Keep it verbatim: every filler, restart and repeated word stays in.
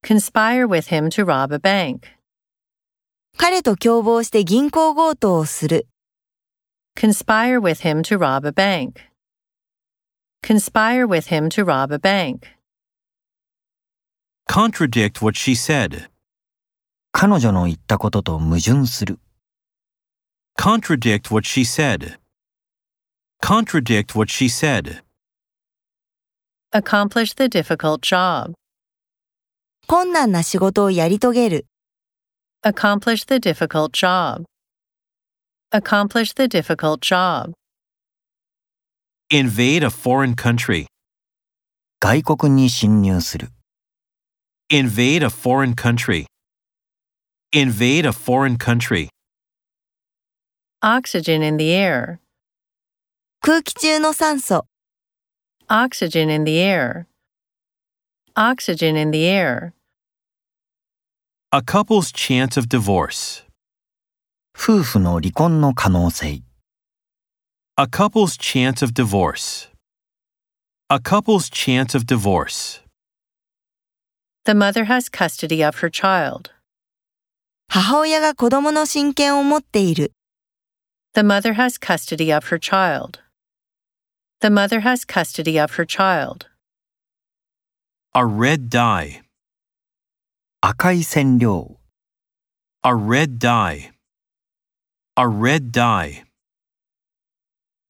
Conspire with him to rob a bank. 彼と共謀して銀行強盗をする。 Conspire with him to rob a bank. Conspire with him to rob a bank. Contradict what she said. 彼女の言ったことと矛盾する。 Contradict what she said. Contradict what she said. Accomplish the difficult job. 困難な仕事をやり遂げる。 Accomplish the difficult job. Accomplish the difficult job. Invade a foreign country. 外国に侵入する。 Invade a foreign country. Invade a foreign country. Oxygen in the air. 空気中の酸素。 Oxygen in the air. Oxygen in the air. A couple's chance of divorce. 夫婦の離婚の可能性。 A couple's chance of divorce. A couple's chance of divorce. The mother has custody of her child. 母親が子供の親権を持っている。 The mother has custody of her child. The mother has custody of her child. A red dye. 赤い染料。 A red dye. A red dye.